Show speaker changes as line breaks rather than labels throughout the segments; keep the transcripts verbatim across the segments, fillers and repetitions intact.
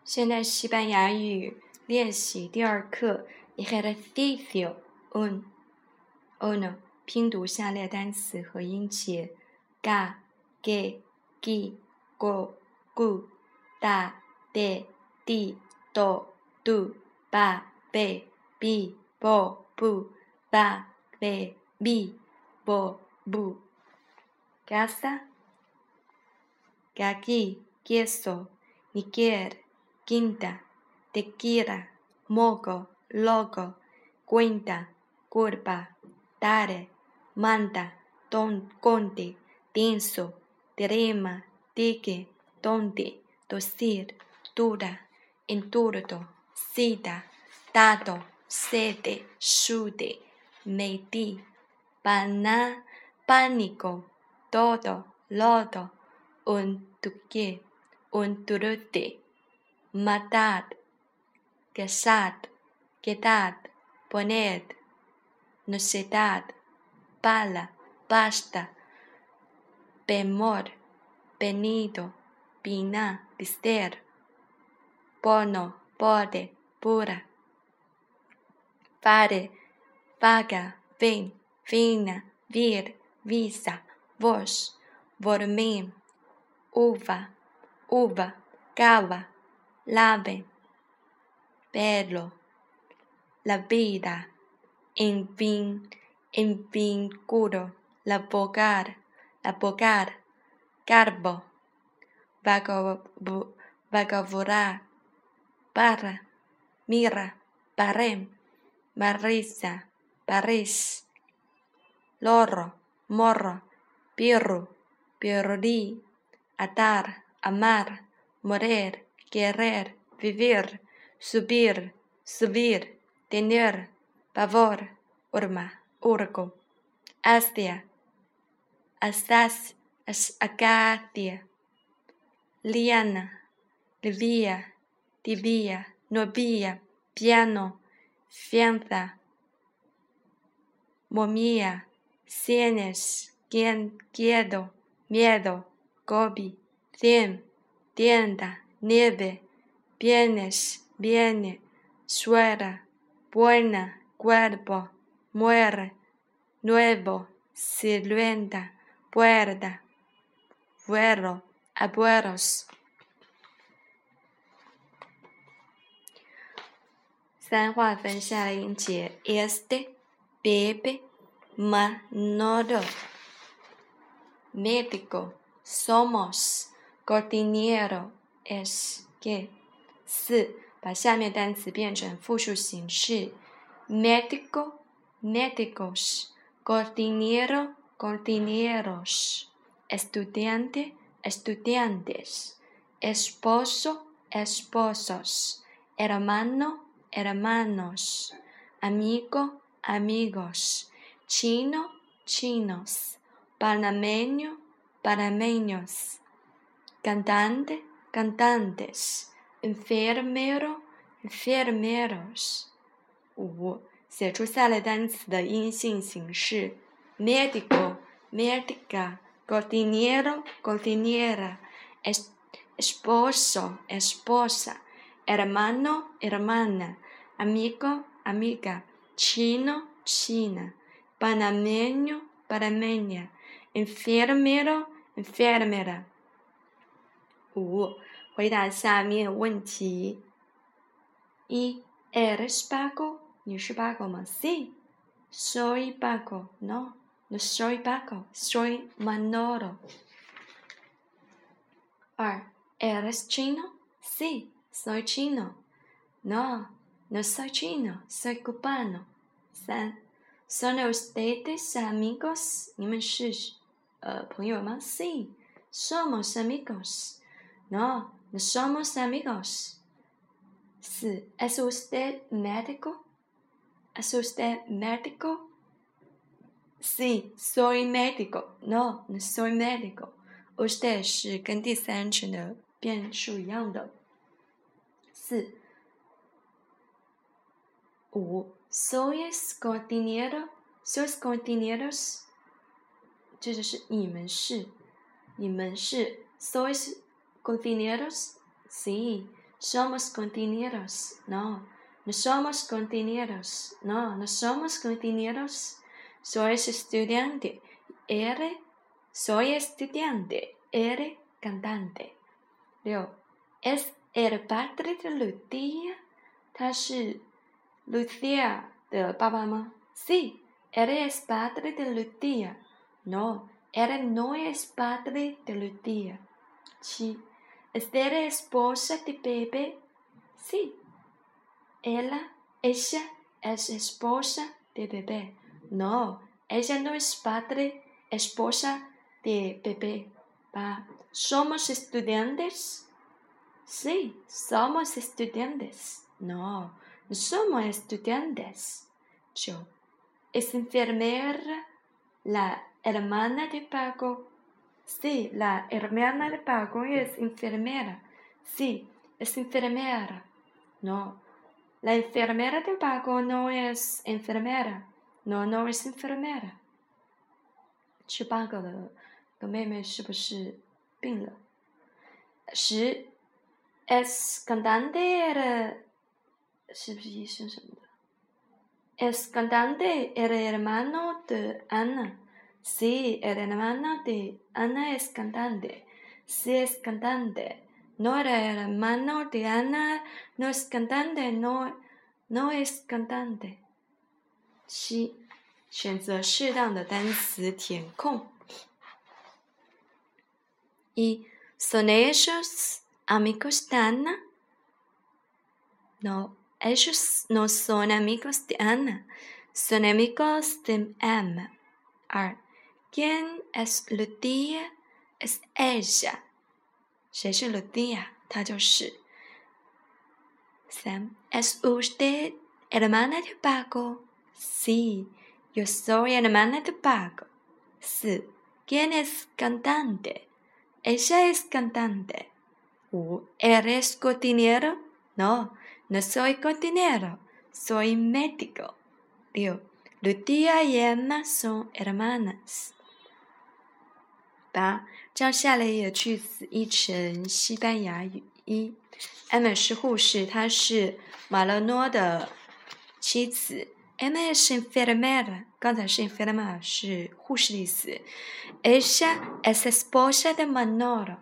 现在西班牙语练习第二课 ejercicio un uno 拼读下列单词和音节 ga ge gi go gu da de di do du ba be bi bo bu ba be bi bo bu casa gaki queso Niger quinta, tequila, mogo, logo, cuenta, curva, dare, manda, don, conde, denso, derema, dique, donde, docir, dura, enturdo, sida, dado, sede, shude, medi, pana, pánico, todo, lodo, un tuque, un turute, matad, casad, quedad, poned, nocedad, pala, basta, bemor, venido, vina, vister, bono, bode, pura, fare, vaga, ven, vina, vir, visa, vos, vormem, uva, uva, cava, lave, bello, la vida, en fin, en vinculo, la bogar, la bogar, garbo, vagavorar, barra, mira, barem, barriza, barris, loro, morro, pirru, pirri, atar, amar, morir, querer, vivir, subir, subir, tener, pavor, urma, urgo, Asia, Asas, Acadia, liana, livia, divia, novia, piano, fianza, momia, sienes, quien, quiedo, miedo, gobi, cien, tienda, nieve, bienes, viene, suera, buena, cuerpo, muere, nuevo, silueta, puerta, vuelo, abuelos。三划分下列音节 este, bebe, manolo, médico, somos, cordillero, es que。四，把下面单词变成复数形式 médico, médicos, cordillero, cordilleros, estudiante, estudiantes, esposo, esposos, hermano, hermanos, amigo, amigos, chino, chinos, panameño, panameños, cantante, cantantes, enfermero, enfermeros。五，写出下列单词的阴性形式 médico, médica, cocinero, cocinera, esposo, esposa, hermano, hermana, amigo, amiga, chino, china, panameño, panameña, enfermero, enfermera。五，回答下面问题。一 ¿Eres Paco? 你是 Paco 吗 Sí. Soy Paco. No, no soy Paco. Soy Manolo. 二 ¿Eres chino? Sí, soy chino. No, no soy chino. Soy cubano. 三 ¿Son ustedes amigos? 你们是呃朋友吗 Sí, somos amigos. No, no somos amigos. 四 ¿Es usted médico? ¿Es usted médico? Sí, soy médico. No, no soy médico. Usted 是跟第三人称的变数一样的。四五 ¿Sois cordillero? ¿Sois cordilleros? 这就是你们是你们是 ¿Sois cordilleros? Sí, somos compañeros. No, no somos compañeros. No, no somos compañeros. Soy estudiante. Eres, soy estudiante. Eres cantante. 六 Es el padre de Lucía. 他是 Lucía 的爸爸吗？ Sí, él es padre de Lucía. No, él no es padre de Lucía. 七 ¿Es la esposa de Pepe? Sí, ella, ella es esposa de Pepe. No, ella no es padre, esposa de Pepe. 八 ¿Somos estudiantes? Sí, somos estudiantes. No, no somos estudiantes. 九 ¿Es enfermera la hermana de Paco? Sí, la hermana de Paco es enfermera. Sí, es enfermera. No, la enfermera de Paco no es enfermera. No, no es enfermera. 十八个的个妹妹是不是病了？十 Es cantante era 是不是医生什么的？ Es cantante era hermano de Ana. Sí, el hermano de Ana es cantante. Sí, es cantante. No era el hermano de Ana, no es cantante, no, no es cantante. 七，选择适当的单词填空。一 ¿Son ellos amigos de Ana? No, ellos no son amigos de Ana, son amigos de Emma. 二 ¿Quién es Lucía? Es ella. 谁是 Lucía? 她就是。三 ¿Es usted hermana de Paco? Sí, yo soy hermana de Paco. 四 ¿Quién es cantante? Ella es cantante. 五 ¿Eres cocinero? No, no soy cocinero, soy médico. 六 Lucía y Emma son hermanas. 八将下列的句子译成西班牙语。一 Emma 是护士，她是马勒诺的妻子。Emma es enfermera， 刚才是 enfermera 是护士的意思。Ella es esposa de Manolo。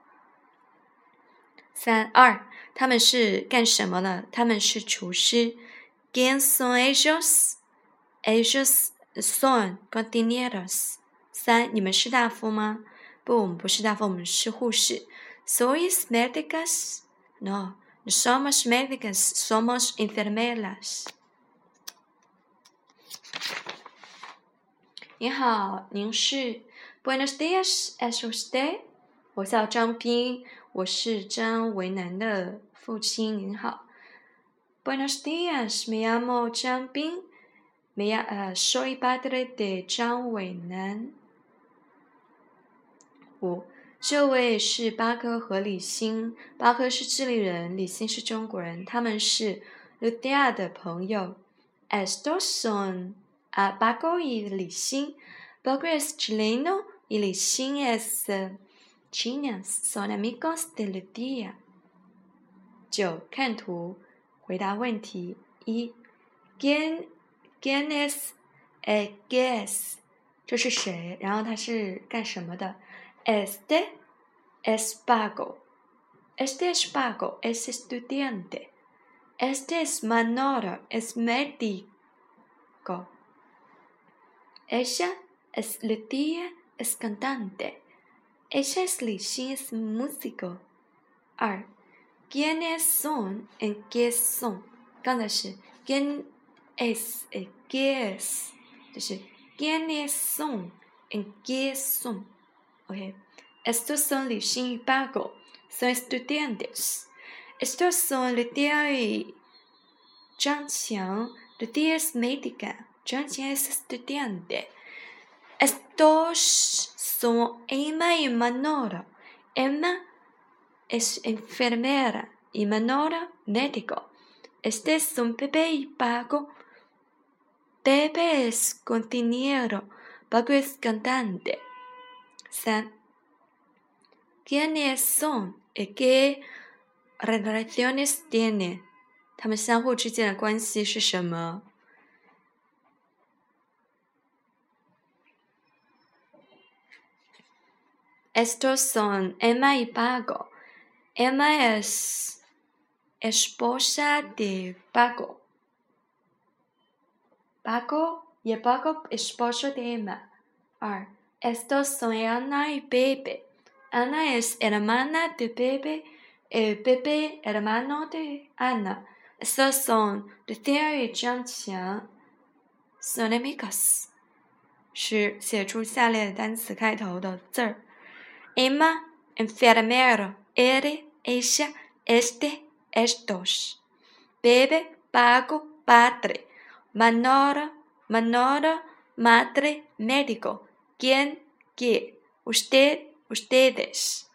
三二他们是干什么的？他们是厨师。¿Quién son ellos? Ellos son cocineros。三你们是大夫吗？不，我们不是大夫，我们是护士。¿Sois médicas? No, no somos médicas, somos enfermeras。你好，您是 Buenos días, ¿es usted? 我叫张斌，我是张维南的父亲。您好。Buenos días, me llamo 张斌。Me llamo, uh, soy padre de 张伟南。五，这位是巴哥和李欣。巴哥是智利人，李欣是中国人，他们是 Lucía 的朋友。Estos son a Paco y 李欣。Paco es chileno y 李欣 es Chinas, son amigos de Lucía。九，看图，回答问题。一 ¿Quién, quién es, eh, ¿qué es? 这是谁？然后他是干什么的？ Este es Paco. Este es Paco, es estudiante. Este es Manolo, es médico. Ella es Lucía, es cantante. Ella es Lixin, es músico. 二 ¿Quiénes son? ¿En qué son? 刚才是 ¿Quién es? ¿En qué es? 就是 ¿Quiénes son? ¿En qué son? Ok. Estos son Lixin y Paco. Son estudiantes. Estos son Lucía y Zhang Qiang. Lucía es médica. Zhang Qiang es estudiante. Estos son Emma y Manolo. Emma es enfermera y Manolo médico. Estos son Pepe y Paco. Pepe es cocinero. Paco es cantante. 三 ¿Quiénes son? ¿Y qué relaciones tiene？ 他们相互之间的关系是什么？ Estos son Emma y Paco. Emma es esposa de Paco. Paco y Paco esposo de Emma. 二 Estos son Ana y Pepe. Ana es hermana de Pepe. Y Pepe hermano de Ana. Estos son Lucía y Jiangqiang. Son amigos. 是写出下列的单词开头的字儿。Emma, enfermero, él, ella, este, estos. Pepe, Paco, padre. Manolo, Manolo, madre, médico. ¿Quién, qué? Usted, ustedes.